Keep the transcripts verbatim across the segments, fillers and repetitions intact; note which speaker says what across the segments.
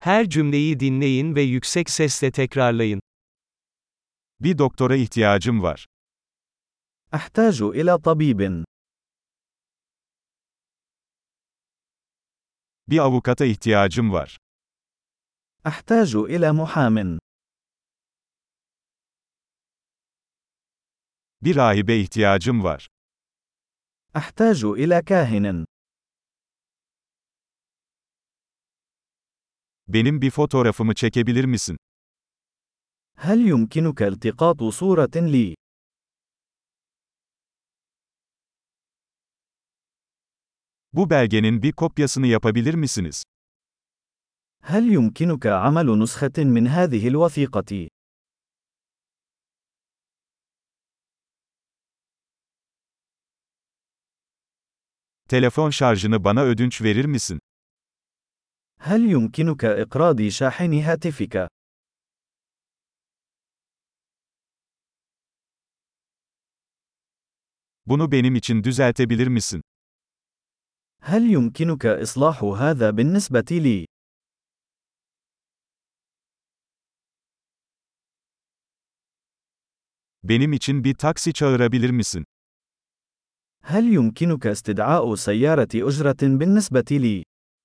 Speaker 1: Her cümleyi dinleyin ve yüksek sesle tekrarlayın.
Speaker 2: Bir doktora ihtiyacım var.
Speaker 3: أحتاج إلى طبيب.
Speaker 2: Bir avukata ihtiyacım var.
Speaker 3: أحتاج إلى محام.
Speaker 2: Bir rahibe ihtiyacım var.
Speaker 3: أحتاج إلى كاهن.
Speaker 2: Benim bir fotoğrafımı çekebilir misin?
Speaker 3: هل يمكنك التقاط صورة لي؟
Speaker 2: Bu belgenin bir kopyasını yapabilir misiniz?
Speaker 3: هل يمكنك عمل نسخة من هذه الوثيقة؟
Speaker 2: Telefon şarjını bana ödünç verir misin?
Speaker 3: هل يمكنك إقراض شاحن هاتفك؟
Speaker 2: Bunu benim için düzeltebilir misin?
Speaker 3: هل يمكنك إصلاح هذا بالنسبة لي؟
Speaker 2: Benim için bir taksi çağırabilir misin?
Speaker 3: هل يمكنك استدعاء سيارة أجرة بالنسبة لي؟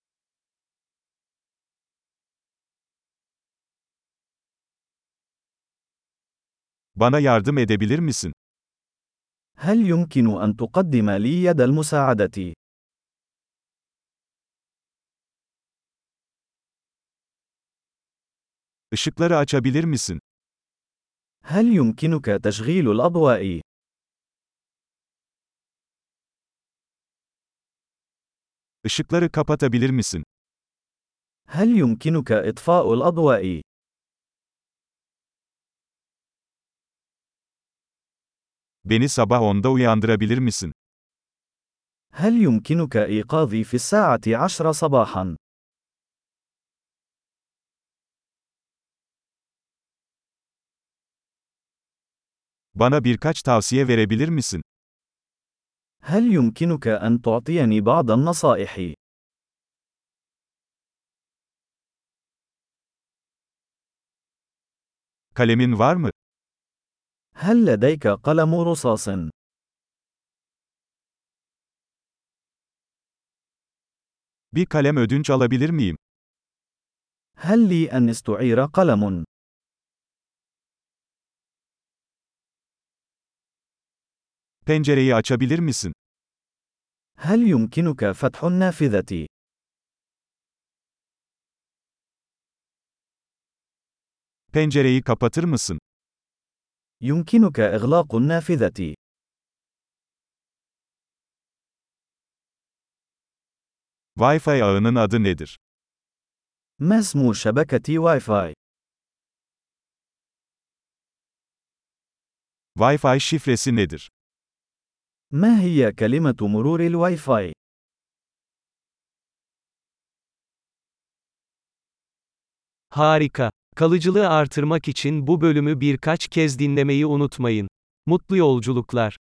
Speaker 2: Bana yardım edebilir misin?
Speaker 3: هل يمكن أن تقدم لي يد المساعدة؟
Speaker 2: Işıkları açabilir misin?
Speaker 3: هل يمكنك تشغيل الأضواء؟
Speaker 2: Işıkları kapatabilir misin?
Speaker 3: هل يمكنك إطفاء الأضواء؟
Speaker 2: Beni sabah onda uyandırabilir misin?
Speaker 3: هل يمكنك إيقاظي في الساعة عشرة صباحا؟
Speaker 2: Bana birkaç tavsiye verebilir misin?
Speaker 3: هل يمكنك أن تعطيني بعض النصائح؟
Speaker 2: Kalemin var mı?
Speaker 3: هل لديك قلم رصاص؟
Speaker 2: Bir kalem ödünç alabilir miyim?
Speaker 3: هل لي أن استعير قلم؟
Speaker 2: Pencereyi açabilir misin?
Speaker 3: هل يمكنك فتح النافذة؟
Speaker 2: Pencereyi kapatır mısın?
Speaker 3: يمكنك إغلاق النافذة.
Speaker 2: Wi-Fi ağının adı nedir?
Speaker 3: ما اسم شبكة واي فاي؟
Speaker 2: Wi-Fi şifresi nedir?
Speaker 3: ما هي كلمة مرور الواي فاي؟
Speaker 1: Harika. Kalıcılığı artırmak için bu bölümü birkaç kez dinlemeyi unutmayın. Mutlu yolculuklar.